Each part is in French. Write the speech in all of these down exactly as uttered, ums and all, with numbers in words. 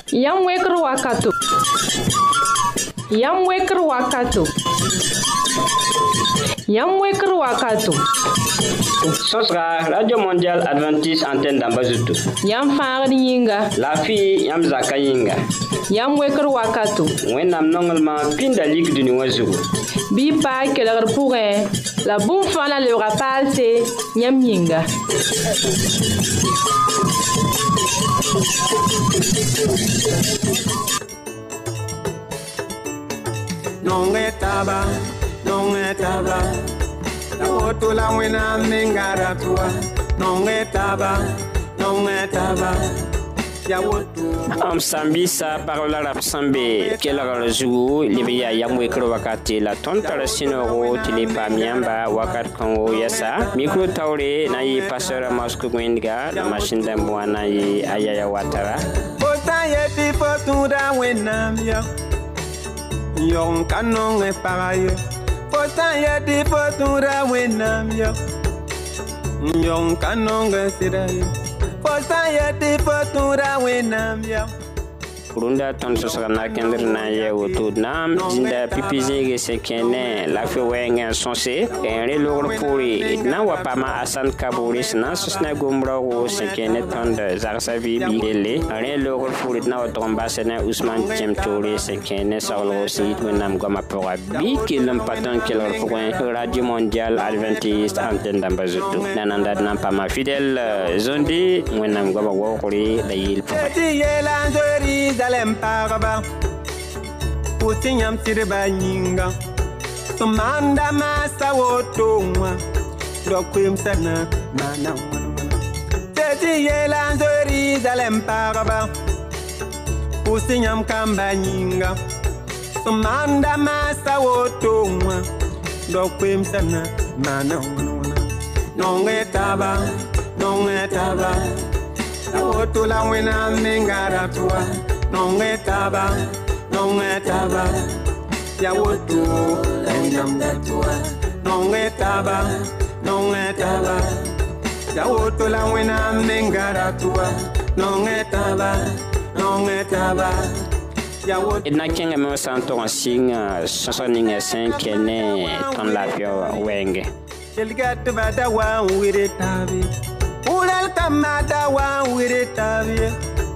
Yam wekr wakato. Yam wekr wakato. Yam wekr wakato. Sosra Radio Mondial Adventiste Antenne d'Ambazuto. Yam faagd yĩnga. La fi yam zaka yĩnga. Yam wekr wakato. Wẽnnaam nonglema pĩnda lik dũni wã zugu. Bɩ y paa kelgr pʋgẽ la bũmb fãa la lebga paalse yãmb yĩnga. Nonge taba, nonge taba, la woto la wena mengara tua. Nonge taba, nonge taba, ya woto. Am sambisa parola rap sambe kelgr zugu libiya yam wekr wakati la ton tarasino tili pamiamba wakat kongo yasa micro tawre na yi pasteur Mosco Gwendiga la machine d'amwana yi ayaya watara. Ota yeti fotura wena mia. Yon kanon e parayo. Ota yeti fotura wena mia. Yon kanon e sirayo. Ota yeti fotura wena mia. Kurunda ton sosana kendr na ye woto nam jinda pipizege sekene la fe wenga sonse en relor puri na wapama asan kaburis na sosna gombra wo sekene ton de zarsavi bidele relor puri na watomba sene Ousmane Chemtouri sekene sawlo sit wenam goma pora bi kilam patan kelor point Radio Mondial Adventiste Antenne d'Ambazuto nananda na pama fidèle zondi wenam goma wokuri la yil Dalem paraba Putinyam sirba nyinga Sumanda masa wotonga Dokwim sana mana Teti yelan zori dalem paraba Putinyam kamba nyinga Sumanda masa wotonga Dokwim sana mana Nonge taba Nonge taba Woto la wena mengara tua Nonge taba, nonge taba, ya woto lenam datua. Nonge taba, nonge taba, ya woto la wena mengara tua. Nonge taba, nonge taba, ya woto. Ina kenga me santo singa sosoninga senkene ton la pio wenge. Elgat bada wa wire tabi. Ulal kamada wa wire tabi.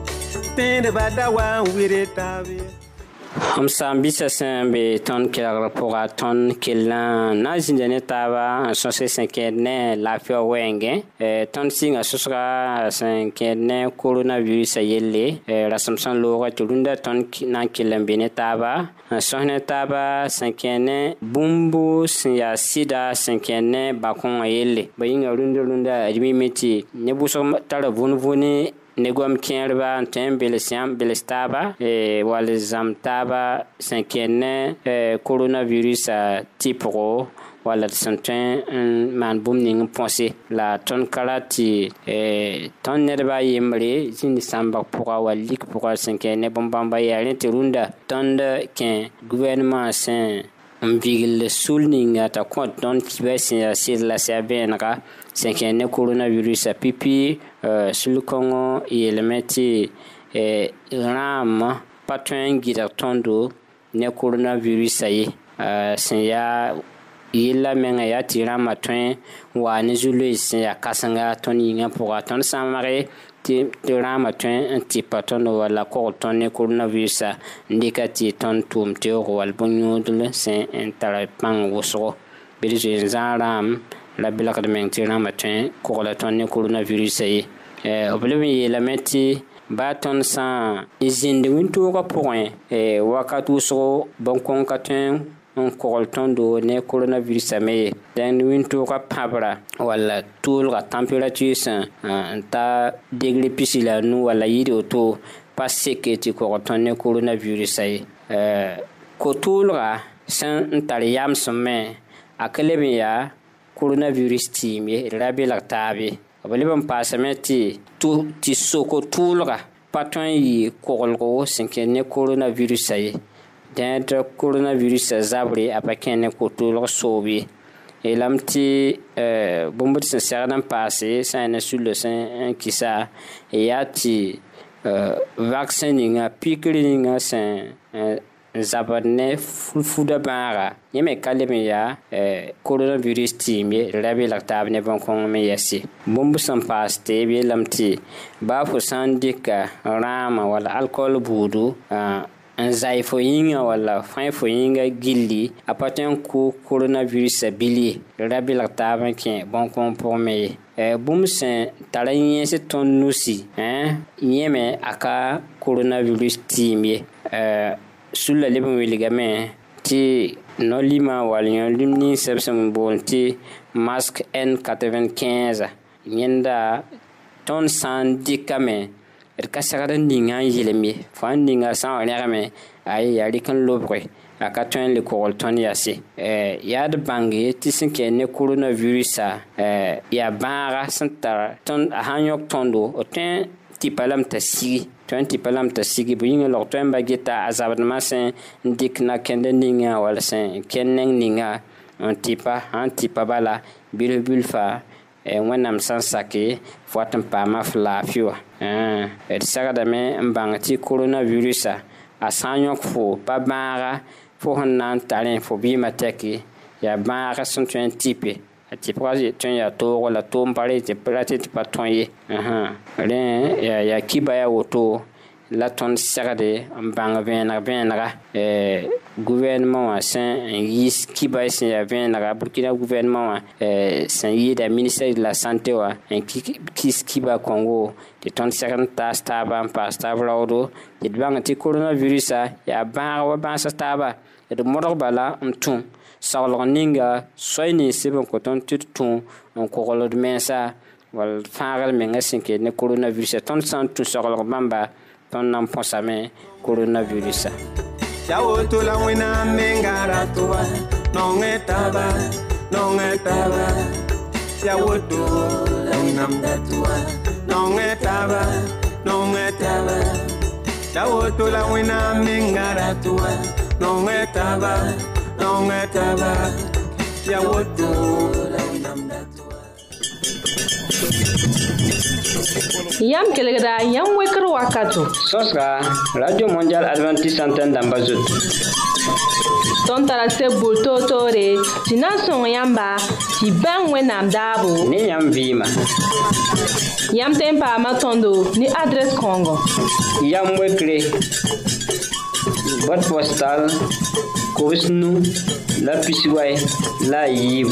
Am sambisa sembe ton kelgr pʋga tõnd kell na zĩnda ne taaba n sõse sẽn kẽed ne laafɩ wɛɛngẽ tõnd sɩnga sõsga sẽn kẽed ne coronavirus yelle rasem sẽn loogã tɩ rũndã tõnd na n kell n be ne taaba n sõs ne taaba sẽn kẽed ne bũmb sẽn yaa sɩda sẽn kẽed ne bakõngã yelle ba yĩnga rũndã rũndã d mime tɩ ne bʋsg tara vũn-vũni ne gom kẽerba n tõe n bels yãmb bels taaba wall zãmb taaba sẽn kẽed ne coronavirusã tɩpgo walla d sẽn tõe n maan bũmb ning n põse la tõnd ka ra tɩ tõnd nedbã a yembre zĩnd sãmbg pʋga wa lik pʋga sẽn kẽed ne bõn-bãmba yaa rẽ tɩ rũndã tõnd kẽ gouvernement sẽn n bigl sul ninga t'a kõ tõnd kibã sẽn yaa sɩd la sɛ bẽenega sẽn kẽed ne coronavirusã pipi sul-kõngõ yeelame tɩ rãam pa tõe n gɩdg tõndo ne coronavirusã ye sẽn yaa yella menga yaa tɩ rãmbã tõe n waa ne zu-loees sẽn yaa kãsenga tõnd yĩngã pʋga tõnd sãmage tɩ rãmbã tõe n tɩpa tõnd walla kogl tõnd ne coronavirusã n dɩka tɩ tõnd tʋʋm teoogo wall bõn-yõodl sẽn n tara pãng wʋsgo bɩd zoe n zãag rãam la belgd meng tɩ rãmbã tõe kogla tõnd ne coronavirusã ye b leb n yeelame tɩ baa tõnd sã n zĩnd wĩntoogã pʋgẽ wakat wʋsgo bõn-kõng ka tõe n kogl tõndo ne coronavirusã me ye dẽnd wĩntoogã pãbra walla tʋʋlga température sẽn n ta degre pisi la nu walla yɩɩd woto pa seke tɩ kogl tõnd ne coronavirusã ye ko-tʋʋlga sẽn n tar yamsem me a ka leb n yaa coronavirus tɩɩm ye d ra belg taab ye b leb n paasame tɩ tɩ soko tʋʋlga pa tõe n yɩ koglgo sẽn kẽed ne coronavirusã ye dẽed coronavirusã zabre a pa kẽ ne ko-tʋʋlg soob ye yeelame tɩ bũmb d sẽn segd n paase sã n na sulla sẽn n kɩsa yaa tɩ vaccin ninga pikiri ninga sen zabadne fuda bara yeme kaleme ya coronavirus timi rabi laktab ne bon kon me yasi bombu sam paste bi lamti ba fu sandika rama wala alcool budu an zai fo yinga wala fai fo yinga gilli apaten ku coronavirus bili rabi laktab ke bon kon pour me e bum sen talayen se ton nusi hein yeme aka coronavirus timi euh sulla lebon wiligame ti nolima walion limni sepsem bonti masque N quatre-vingt-quinze yenda ton sandikame er kasagada ninga yelemi fandinga san regame ay yari kan lobre aka ton le korol ton yasi eh yad bangi ti sinke ne coronavirus eh ya bara santa ton hanyok tondo oten ti palam tasi twenty palam tasigi buinga lo temba gita azabna sen dik na kende ninga wala sen kenneng ninga on tipa on tipa bala bilbulfa e wanam sansake fotam pa mafla fiwa eh et sagada me mbangati coronavirus a sanyok fo pa bara fo hanan talen fo bi mateki ya bara son twenty ti praje ton ya to wala to mpare ti prate ti patonye aha ren ya ya kibaya woto la ton sagade mbanga venra venra eh gouvernement wa sen yis kibaya sen ya venra Burkina gouvernement wa eh sen yida ministère de la santé wa en kis kiba Congo de ton sagade ta staba pa staba rodo de banga ti coronavirus ya ba wa ba staba de modor bala mtun saulon ninga soyni sibon ko ton tutun on ko golo de mensa wal faral menga sinke ne coronavirus ton santu saulon bamba ton nam posame coronavirus yawo to la wina mengara toa non etaba non etaba yawo to la nam datua non etaba non etaba yawo to la wina mengara toa non etaba non etaba yawo to la nam datua yam kelegda yam wekro wakato sosra radio mondial adventiste antenne d'Ambazut ton tarase bulto tore tinason yamba ti ban wenam dabo ni yam vima yam tempa matondo ni adresse Congo yam wekre boîte postale Kousnou la Pisiway la Yib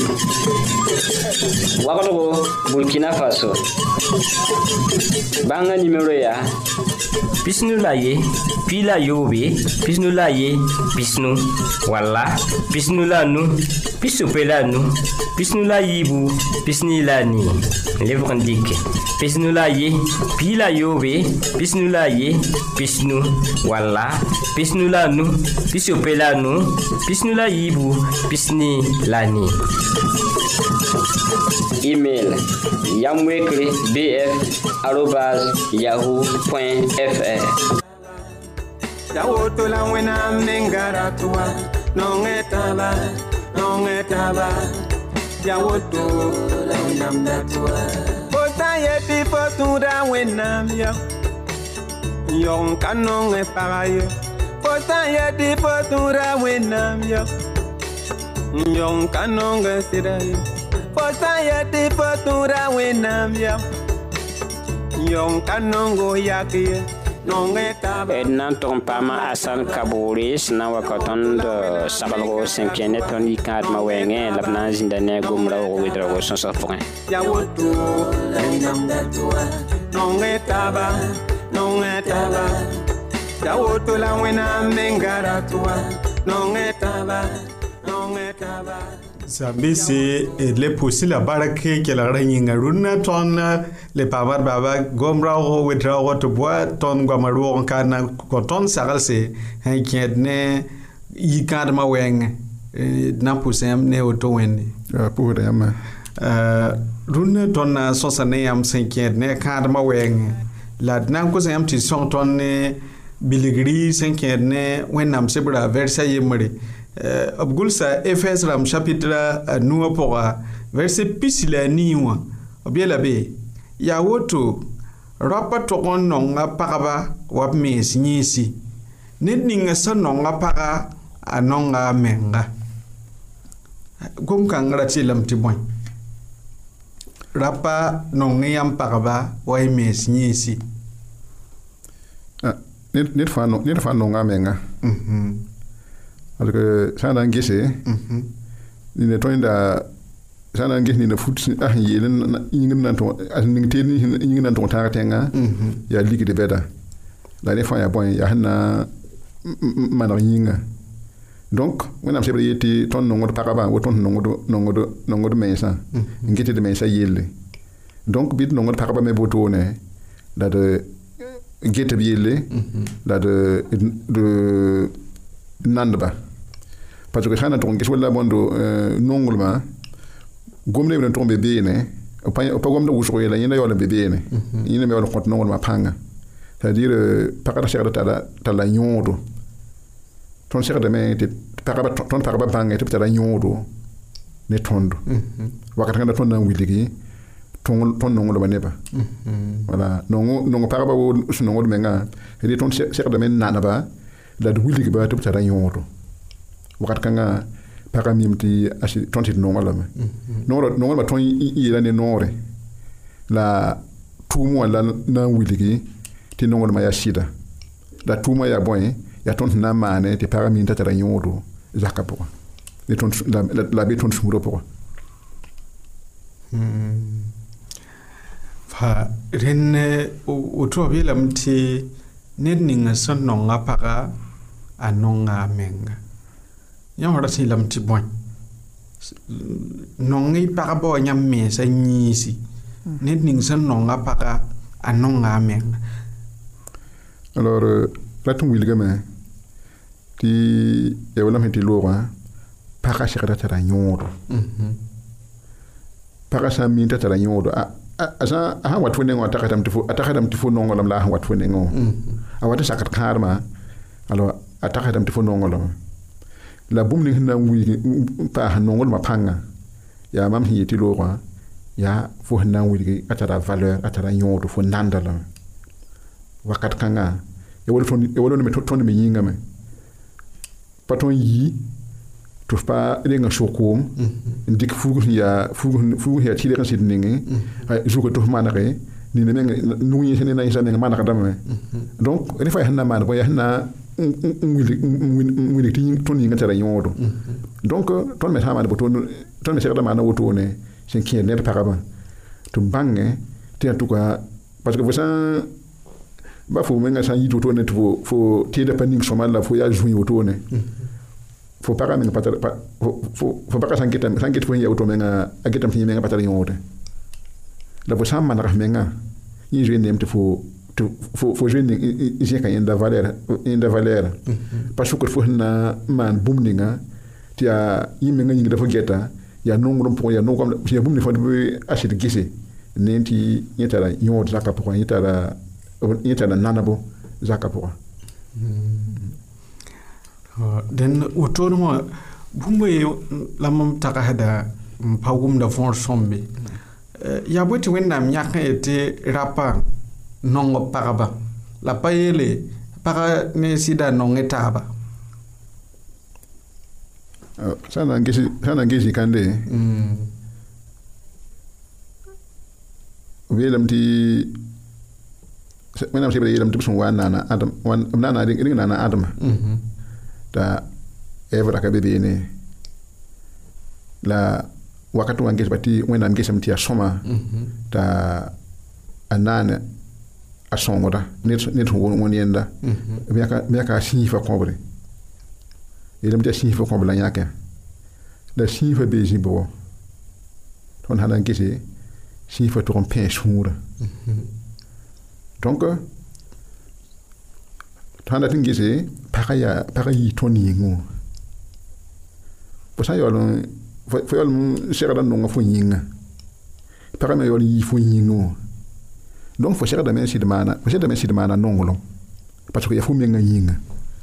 Wakato Burkina Faso Banga numéro ya Pisnu la ye Pila yobe Pisnu la ye Pisnu Walla Pisnu la nu Pisu pela nu Pisnu la yibu Pisni la ni Livre indique Pisnu la ye Pila yobe Pisnu la ye Pisnu Walla Pisnu la nu Pisu pela nu Pisnu la yibu Pisni la ni Email yamwekre bf arobase yahoo point fr yawo to la wena mengara toa non etaba non etaba yawo to la nam datua ota yeti fotura wena mia yon kanon e paraye ota yeti fotura wena mia yon kanon e siraye ota yeti fotura wena mia yon kanon go yakie nan ton pama asan kaburi sna wakaton de sabalgo cinquième ton ikad ma wenge labna zindane gumra o widra go son sa point ya woto la nam datua non etaba non etaba ya woto la wena mengara tua non etaba non etaba Zambisi le pusi la barake ke la ranyinga runa ton le pamar baba gomra o wedra o to bois ton gomaru on kana koton sagalse hay kiedne yikad ma weng na pusem ne o to wendi pour yama runa ton sosane am cinquième kad ma weng la nan ko sam ti son ton biligri cinquième wenam sebra versa yemre Abgulsa Efes Ram chapitre nous pour verset pisila niwa obiela be ya woto rapa togon nonga pagaba wap mes nyisi ned ninga sa nonga paga a nonga menga gom kangara tilam tiboy rapa nonga yam pagaba way mes nyisi net net fa no net fa nonga menga mhm alors que ça n'a ngissé mhm ni ne tonda ça n'a ngissé ni ne foot ah yelen yingen nan to as ning te ni yingen nan to ta tenga mhm ya ligue de beda la des fois ya bon ya na man yinga donc when am sebre yeti ton no ngod pakaba wo ton no ngod no ngod no ngod mensa ngiti de mensa yelle donc bit no ngod pakaba me botone da de gete bielle da de de nandba parce que xana ton gis wala bondo nongulma gomne ben tombe bene o pa o pa gomne wusro yela yina yola bebene yina me yola kont nongulma panga c'est-à-dire pakata cher ta ta la nyodo ton cher de me te pakaba ton pakaba panga te ta la nyodo ne tondo wakata ngana ton na wiligi ton ton nongulma neba voilà non non pakaba wo nongulma menga et ton cher de me nanaba la de wiligi ba te ta la nyodo wakat kanga para mimti asi tonti nongala me noro nongala ton yela ne nore la tumo la na wiligi ti nongala ma ya shida la tumo ya boy ya tonti na mane ti para minta tara nyodo zakapo le ton la la be ton sumuro po hmm fa renne o to bela mti ned ninga son nonga para anonga menga yang ora si lam ti bon nongi para bo nyam me sa nyisi ned ning san nonga para anonga menga alors ratum wilgame ti e wala meti lora para shikata tara nyodo mhm para sa minta tara nyodo a asa ha wat fune ngo atakatam tifu atakatam tifu nongolam la ha wat fune ngo a wata sakat karma alors atakatam tifu nongolam la bumni hinna wi pa nongol ma panga ya mam hi ti lora ya fo hinna wi atara valeur atara nyodo fo nandala wakat kanga e wol ton e wol me ton me yinga me paton yi to pa renga shokom ndik fugu ya fugu fugu ya tile kan sidningi ay juko to manare ni ne nu yi sene na isane manaka dama donc ele fa hinna man ko ya hinna nguli nguli ti ton yi ngata nyodo donc ton me hamane boton ton me serda mana woto ne sen kien ne paraba to bange ti en tout cas parce que vous ça ba fo menga sa yito to ne to fo ti de paning somal la fo ya jouer woto ne fo para menga patara fo fo para sankita sankita fo ya woto menga agetam fi menga patara nyodo la bo sam mana menga yi jouer nem te fo faut faut jouer ici quand il y a de valeur il y a de valeur parce que faut na man bumninga ti a yimenga ngi dafa geta ya nongro po ya nongro ya bumni fa be acheter gisse nenti yetara nyod zaka po yetara yetara nanabo zaka po den autonomo bumbe lamam taka hada pagum da fond sombe ya boti wenda myaka ete rapa nongo paraba la payele para ne sida nonge taba sana ngisi sana ngisi kande mm welam ti menam sibre yelam tibsun wana na adam wan nana ding ding nana adam mhm ta evra ka bebe ne la wakati wangesi bati wena ngesi mtia soma ta anana asongoda net net won yenda biaka biaka sifa kobre ele mtia sifa kobre nyaka da sifa beji bo ton halan kisi sifa to rompe soura donc tanda tingisi pakaya pakayi toni ngo posa yolo fo yolo shera no ngafo yinga pakama yolo yi fo yingo donc fo shera da men sidmana fo shera da men sidmana nongolo parce que ya fo menga yinga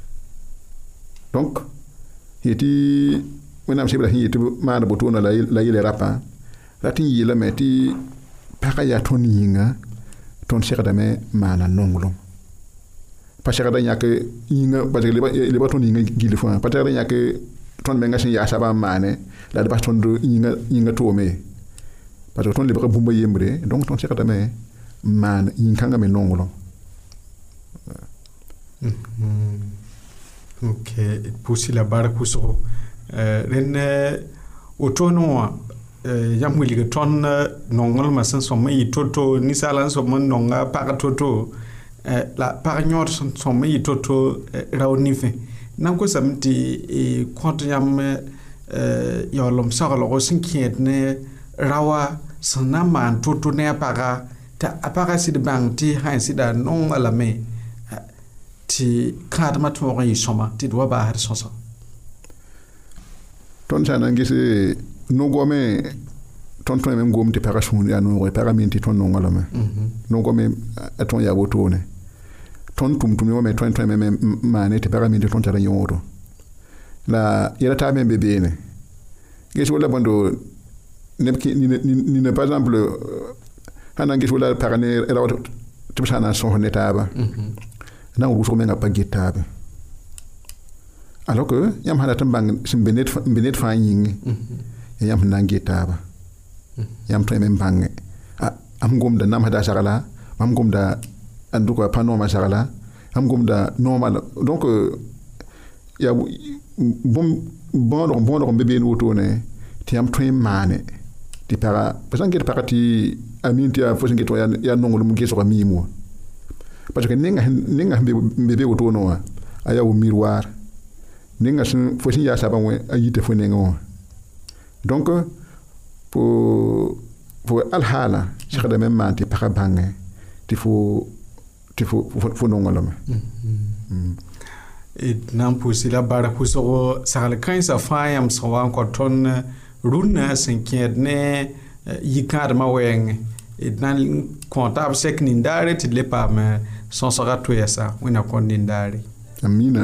donc yeti wenam sibra yeti mana botona la la yele rapa lati yela meti pakaya toni yinga ton segdame maana nonglem pa segda yãk yĩnga parce que leba tõnd yĩnga gil fãa pa segda yãk tõnd menga sẽn yaa sabã n maane la d bas tõnd yĩnga yĩnga toome parce que tõnd lebga bũmba yembre donc tõnd segdame n maan yĩn-kãngã me nonglem. Ok, pusi la bark pʋsgo rẽnd wotoone wã yãmb wilg tõnd nonglmã sẽn sõm n yɩ to-to ninsaala n sõm n nonga pag to-to la pag yõod sẽn sõm n yɩ to-to rao nifẽ nan kosame tɩ kõt yãmb yaoolem saglgo sẽn kẽed ne raoa sẽn na n maan to-to ne a paga t'a a paga sɩd bãng tɩ sã n sɩda nonga lame tɩ kãadmã tõog n yɩ sõma tɩ d wa baasd sõsa. Tõnd sã na n ges no-goame tõnd tõe me n gom tɩ pagã sũur yaa nooge pagã me tɩ tõnd nonga lame no-goame a tõnd yaa wotone tõnd tʋm-tʋm wame tõe tõe me maane tɩ pagã me tɩ tõnd tara yõodo la yɛla taa me n be beene ges wala bõndo neb nina par exemple sã na n ges wala pag ne rao tɩ b sã na n sõs ne taaba na n wʋsg menga pa get taabe alors que yãmb sã dat n bãng sẽn be ned fãa yĩnge yãmb sẽn na n get taaba yãmb tõe me n bãnge am gomda namsda sagla mam gomda n dʋka pa noomã sagla am gomda noomã donc yaa bõodg bõodg n be been wotone tɩ yãmb tõe n maane tɩ paga pa sã n get pagã tɩ a min tɩ yaa fo sẽn get wã yaa nonglem gesga miim wa parce que nenga nenga be be woto no wa aya wo miroir nenga sun fo sin ya saba we ayite fo nenga wa donc pour pour al hala cheikh da même manti para bange ti fo ti fo fo no ngolama et nan posi la bara puso sal kan sa fayam so wan ko ton runa cinquième ne yikad ma weng et nan comptable sek nindare ti le pa me son sera to yesa wina kon nindare amina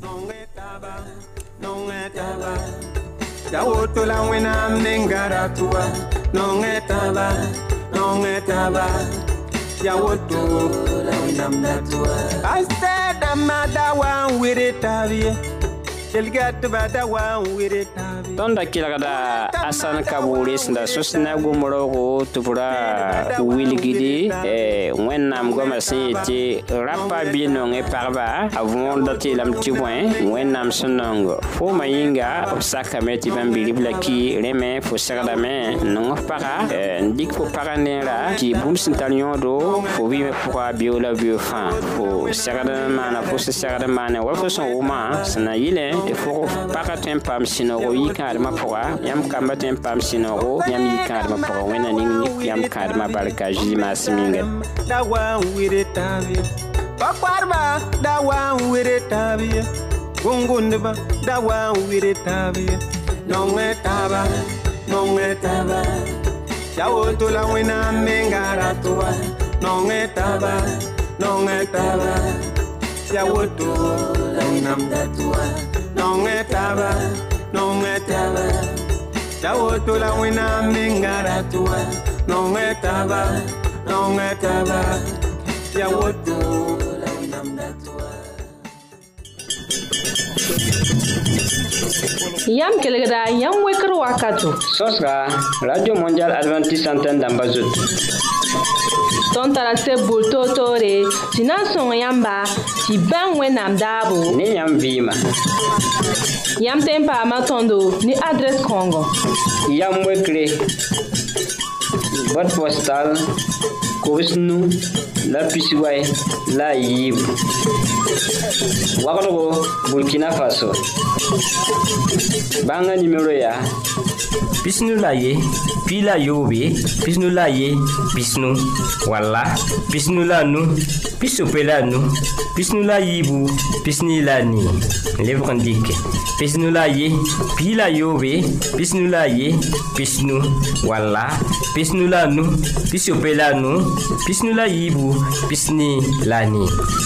ya woto la wina mnengara tuwa non etaba non etaba ya woto la wina mnatua I said amada wan wiritavi elgat bada wan wiritavi tonda kilagada asan kaburi sanda susna gumrogo tubura wilgidi e wennam goma siti rapa bino nge parba avon dati lam tibwen wennam sonongo fo mayinga obsaka meti bambili blaki reme fo sagdame non para ndik fo paranera ki bum sintalion do fo vive pour biola biofan fo sagdame mana fo sagdame mana wa fo son uma sana yile e fo para tempam sinogo yika ma poa yam kamba tem pam sinogo yam yikar ma poa wena ni yam kar ma barka jima siminga da wa wire tabi bakwarba da wa wire tabi gungundba da wa wire tabi non etaba non etaba ya woto la wena mengara toa non etaba non etaba ya woto la namda toa non etaba non etaba ya woto la wina mingara tua non etaba non etaba ya woto la wina mdatua yam kelgda yam wekr wakato sosra radio mondial adventiste antenne d'Ambazut ton tara se bulto tore tina son yamba ti ban wenam dabo ni yam vima yam tempa matondo ni adresse Congo yam wekre boîte postale Kovisnu la Pisiway la Yib Wakadogo Burkina Faso banga numéro ya Pisnu la ye pila yobe pisnu la ye pisnu wala pisnu la nu pisopela nu pisnu la yibu pisni la ni lèvre indique pisnu la ye pila yobe pisnu la ye pisnu wala pisnu la nu pisopela nu pisnu la yibu pisni la ni.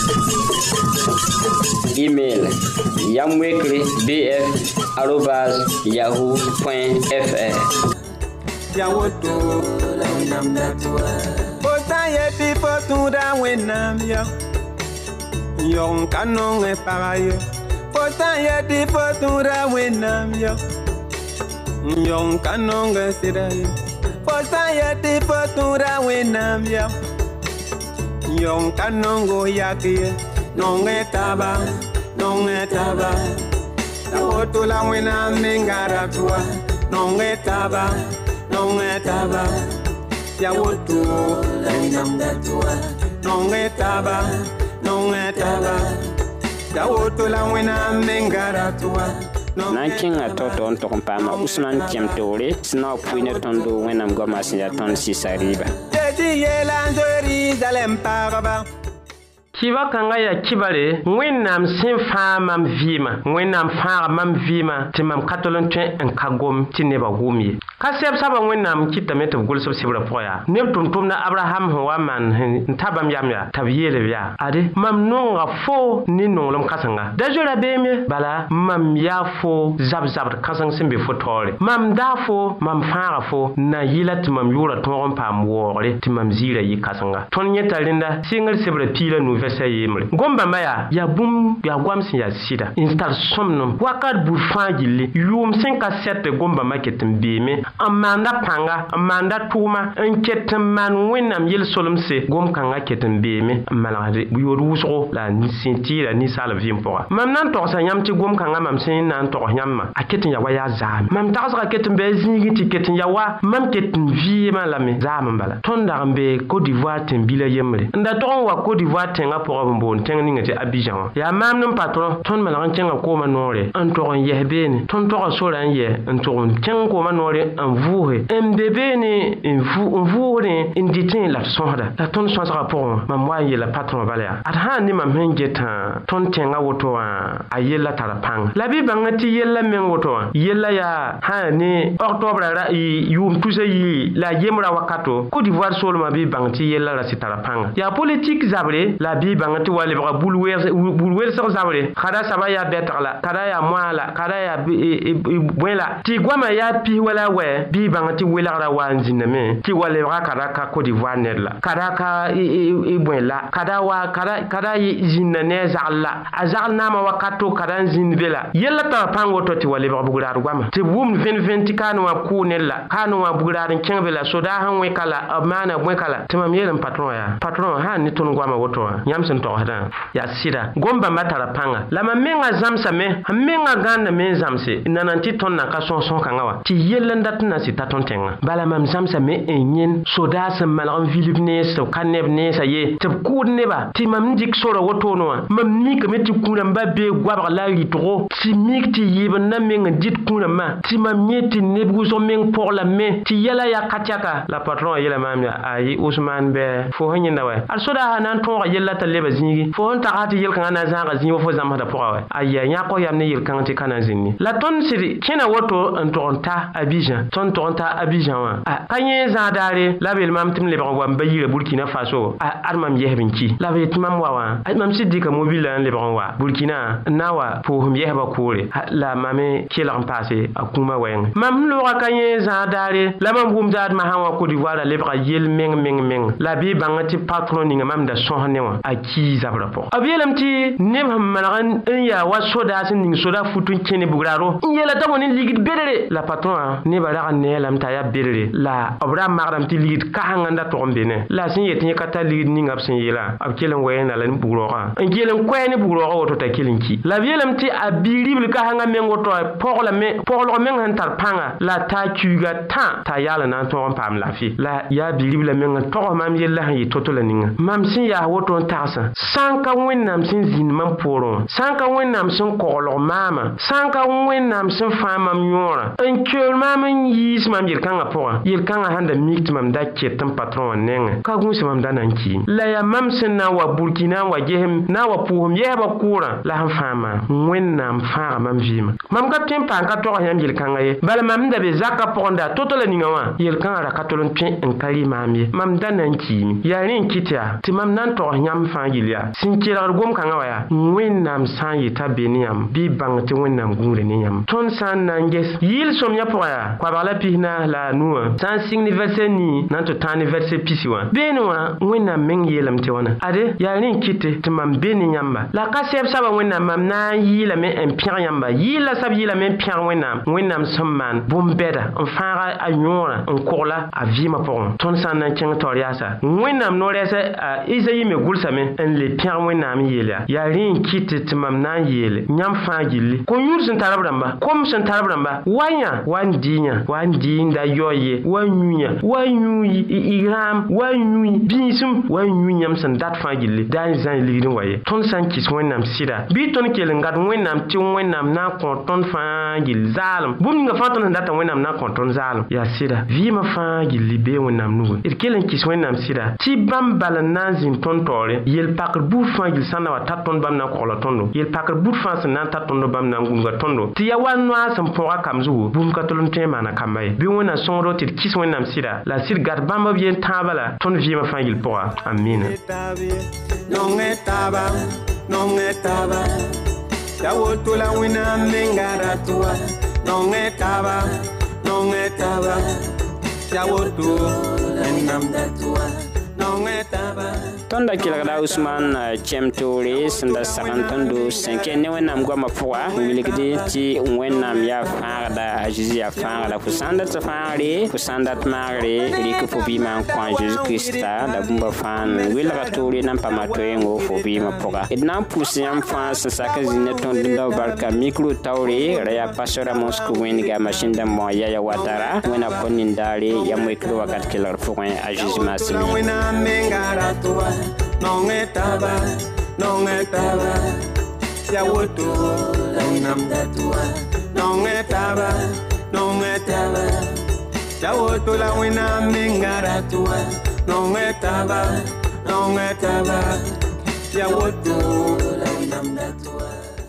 Email yamwekre bf arobase yahoo point fr. Ya woto la namda tua. Bota ye yeti fotuda wenam yo. Yon kanon e parayo. Fotan yeti fotuda wenam yo. Yon kanon e sidayo. Fotan yeti fotuda wenam yo. Yon kanon go yakiye. Non etaba, non etaba. Tawoto la wenam mengara tua. Non etaba, non etaba. Yawoto la wenam datua. Non etaba, non etaba. Tawoto la wenam mengara tua. nan kẽngã tao tao n tog n paama usman tẽm toore sẽn na wa pʋɩ ne tõndo wẽnnaam goamã sẽn yaa tõnd sɩsa rɩɩba kiba kanga ya kibare wẽnnaam sẽn fãa mam vɩɩmã wẽnnaam fãaga mam vɩɩmã tɩ mam ka tol n tõe n ka gom tɩ nebã wʋm ye ka sɛb saba wẽnnaam kɩtame tɩ b gʋlsb sɩbrã pʋgã yaa neb tʋm-tʋmda abraham sẽn wa maan n ta bãmb yam yaa t'a b yeelb yaa ade mam nonga fo ne nonglem kãsenga da zoera beem ye bala mam yaa fo zab-zabd kãseng sẽn be fo taoore mam daa fo mam fãaga fo na yɩla tɩ mam yʋʋra tõog n paam waoogre tɩ mam ziirã yɩ kãsenga tõnd yẽta rẽnda sɩngr sɩbrã piila nu vɛsa yembre gom-bãmbã yaa yaa bũmb yaa goam sẽn yaa sɩda n tar sõmdem wakat bur fãa gilli yʋʋm sẽn ka sɛt gom-bãmbã ket n beeme n maanda pãnga n maanda tʋʋma n ket n maan wẽnnaam yel-solemse gom-kãngã ket n beeme n malgd yood wʋsgo la sẽn tɩɩra ninsaal vɩɩm pʋga mam na n togsa yãmb tɩ gom-kãngã mam sẽn na n togs yãmbã a ket n ya wa yaa zaame mam tagsga ket n bɩ a zĩigi tɩ ket n ya wa mam ket n vɩɩmã lame zaam n bala tõnd dag n be Côte d'Ivoire tẽn-bila yembre n da tog n wa Côte d'Ivoire tẽngã pʋgã n boond tẽng ninga tɩ Abidjan wã yaa maamd n patron tõnd malg n kẽnga koomã noore n tog n yɛs beene tõnd toga sora n yɛ n tog n kẽng koomã noore n vʋʋse n be beene n vʋʋsdẽ n dɩtẽ la d sõsda la tõnd sõsgã pʋgẽ mam wa n yela patron bala yaa ad sãn ne mam sẽn getã tõnd tẽngã woto wã a yella tara pãng la bɩ bãnga tɩ yella meng woto wã yella yaa sãn ne octobre yʋʋm tusa yi la yembrã wakato Côte d'Ivoire soolmã bɩ bãng tɩ yella ra sɩ tara pãnga yaa politique zabre la bɩ bãng tɩ wa lebga bul-welsg zabre kada saba yaa bɛtg la kada yaa moa la kada yaa bõe la tɩ goamã yaa pis wala wɛ bɩ bãng tɩ welgra wa n zĩndame tɩ wa lebga kada ka Côte d'Ivoire ned la kada ka bõe la kada wa kada zĩnda ne a zagl la a zagl naamã wakato kada n zĩnd be la yella tara pãng woto tɩ wa lebg bugraad goamã tɩ b wʋmd vẽn-vẽn tɩ kaane wã kʋʋ ned la kaane wã bugraad n kẽng be la sodaa sẽn wẽka la b maana bõeka la tɩ mam yeelm patron yaa patron sãn ne tõnd goamã woto wã yãmb sẽn togsdã yaa sɩda gom-bãmbã tara pãnga la mam menga zãmsame n menga gãndame n zãmse n nanã tɩ tõnd na ka sõs-sõs-kãngã wa tɩ yell n dat n na sɩ ta tõnd tẽngã bala mam zãmsame n yẽn sodaa sẽn malg n vilb nees tɩ b ka neb neesã ye tɩ b kʋʋd neba tɩ mam n dɩk sora wotone wã mam mikame tɩ kũ-rãmbã bee goabg la rɩtgo tɩ mik tɩ yɩɩb n na meng n dɩt kũ-rãmbã tɩ mam yẽ tɩ neb wʋsg meng poglame tɩ yɛla yaa ka tɛka la patron yela maam yaa ayi usman bɛ fo sẽn yẽnda wɛ ad sodaa na n tõoga yella t'a leba zĩigi fo sẽn taga tɩ yel-kãngã na n zãaga zĩig wa fo zãmsda pʋga wɛ aya yãkg yam ne yel-kãng tɩ ka na n zĩndi la tõnd sɩd kẽna woto n tog n ta Abidjan tõnd tog n ta Abidjan wã ka yẽ zãadaare la b yel mam tɩ m lebg n wa n ba yira Burkina Faso ad mam yɛsb n ki la b yetɩ mam wa wã mam sɩd dɩka mobila n lebg n wa Burkina n na n wa pʋʋsem yɛsba koore la mame kelg n paase a kũumã wɛɛngẽ mam sẽn loogã ka yẽ zãadaare la mam wʋm daadmã sã n wa Côte d'Ivoire a lebga yel meng meng meng la bɩ bãng tɩ patron ninga mam da sõs ne wã a kii zabrã pʋgẽ b yeelame tɩ neb sẽn malg n yaa wa sodaa sẽn ning soda fut n kẽne bugraaro n yeela t'a bõe ne ligd bedre la patron nebã rag n neelame t'a yaa bedre la b ra magdame tɩ ligd kasẽng n da tog n be ne la sẽn yet yẽ ka tar ligd ninga b sẽn yeela b kell n wɛɛna la ne bugrooga n kell n koɛɛ ne bugrooga woto t'a kell n ki la b yeelame tɩ a bi-ribl kasẽngã meng woto poglg meng sẽn tar pãnga la t'a kiuga tã t'a yaal n na n tõog n paam laafɩ la yaa bi-ribla meng n togs mam yella sẽn yɩ to-to la ninga mam sẽn yaa woto n tagsã sã n ka wẽnnaam sẽn zĩnd mam poorẽ wã sã n ka wẽnnaam sẽn koglg maamã sã n ka wẽnnaam sẽn fãa mam yõorã n keool maam n yiis mam yel-kãngã pʋgã yel-kãngã sãn da mik tɩ mam da ket n patron wã nengẽ ka gũus mam da na n kiim la yaa mam sẽn na n wa Burkina n wa gesem na n wa pʋʋsem yɛsbã kʋʋrã la sẽn fãa maam wẽnnaam fãaga mam vɩɩmã mam ka tõe n paan ka togs yãmb yel-kãngã ye bala mam da be zakã pʋgẽ da to-to la ninga wã yel-kãngã ra ka tol n tõe n ka rɩ maam ye mam da na n kiime yaa rẽ n kɩt yaa tɩ mam na n togs yãmb fãa gill yaa sẽn kelgd gom-kãngã wa yaa wẽnnaam sã n yeta be ne yãmb bɩ y bãng tɩ wẽnnaam gũudre ne yãmb tõnd sã n na n ges yɩɩl sõmyã pʋgã yaa koabg la pisna la a nuwã sã n sɩng ne vɛrse nii na n tɩ tãag ne vɛrse pisi wã beene wã wẽnnaam meng yeelame tɩ wãna ade yaa rẽ n kɩte tɩ mam be ne yãmba la ka sɛb saba wẽnnaam mam na n yɩɩlame n pẽg yãmba yɩɩl la sab yɩɩlame n pẽg wẽnnaam wẽnnaam sẽn maan bũmb-bɛda n fãaga a yõorã n kogla a vɩɩmã pʋgẽ tõnd sã n na n kẽng taoor yaasa wẽnnaam no-rɛɛsɛ a isayi me gʋlsame n le pẽg wẽnnaam yeel yaa yaa rẽ n kɩte tɩ mam na n yeele yãmb fãa gilli ko-yũud sẽn tar b rãmba kom sẽn tar b rãmba wa yã wa n dɩ yã wa n dɩ n da yaool ye wa n yũ yã wa n yũ igrãam wa n yũ bĩisem wa n yũ yãmb sẽn dat fãa gilli daa n zã ligd n wa ye tõnd sã n kɩs wẽnnaam sɩda bɩ tõnd kell n gat wẽnnaam tɩ wẽnnaam na n kõ tõnd fãa gill zaalem bũmb ninga fãa tõnd sẽn data wẽnnaam na n kõ tõnd zaalem yaa sɩda vɩɩmã fãa gilli bee wẽnnaam nugẽ d kell n kɩs wẽnnaam sɩda tɩ bãmb bal n na n zĩnd tõnd taoore yel-pakr buud fãa gill sã n na wa tar tõnd bãmb na n kogla tõndo yel-pakr buud fãa sẽn na n tar tõndo bãmb na n gũnga tõndo tɩ ya wa noa sẽn pʋga kam zugu bũmb ka tol n tõe n maana kamba ye bɩ wẽnna sõngdo tɩ d kɩs wẽnnaam sɩda la sɩd gat bãmb b yen tãabã la tõnd vɩɩmã fãa gill pʋga amina non estaba, non estaba, ya vuelto la buena mengara tua, non estaba, non estaba, ya vuelto la buena tua, non estaba. tõnda kelgda usman kẽm toore sẽn da sagn tõndo sẽn kẽ ne wẽnnaam goamã pʋga wilgde tɩ wẽnnaam yaa fãagda a zeezi yaa fãagda fo sã n dat fãagre fo sã n dat maagre rɩk fo bɩɩmã n kõ a zeezi kirista la bũmba fãa n welga toore na n paama toeengo fo bɩɩmã pʋga d na n pʋs yãmb fãa sẽn sak n zĩ ne tõnd dũnda barka mikro taoore ra yaa pastor a mosco wẽnga masĩn dãmbõ yaya watara wẽna kõ nindaare yam wekd wakat kelgr pʋgẽ a zeezi maasem Non estaba, non estaba, se ha vuelto la buena tua. Non estaba, non estaba, se ha vuelto la buena mengara tua. Non estaba, non estaba, se ha vuelto la buena tua.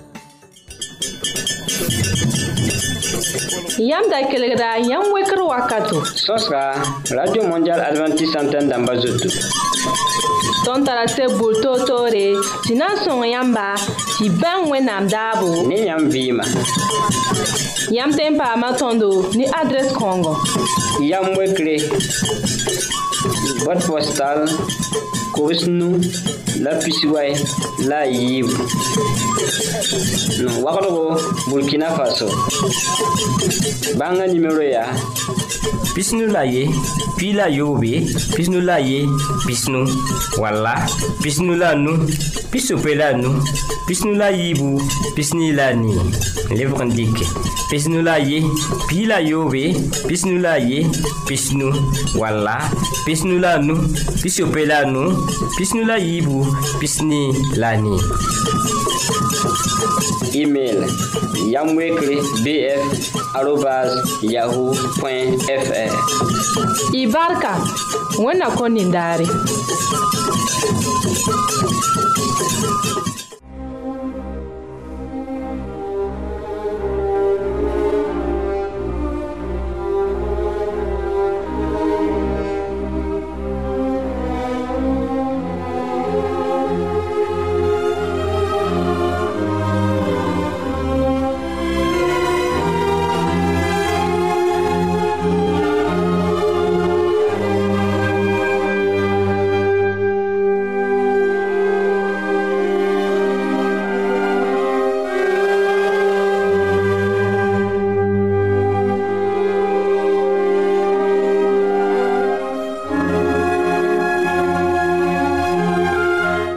Yam da kelgda yam wekr wakato sõsga radio mondial adventiste antenne dãmba zoto tõnd tara seb bʋʋr toor-toore tɩ na n sõng yãmba tɩ bãng wẽnnaam daabo ne yãmb vɩɩma yãmb tõe n paama tõndo ne adrɛs kãongo yam wekre boîte postale kobs nu la pisiway la a yiibu wagdgo burkina faso bãnga nimero yaa pisnu la ye pi la yobe pisnu la ye pisnu walla pisnu la nu pisope la nu pisnu la yibu pisni la ni lebg n dɩke pisnu la ye pi la yobe pisnu la ye pisnu walla pisnu la nu pisope la nu pisnu la yibu pisni la ni email yamwekre bf arobas yahoo point fr y barka wẽnna kõ nindaare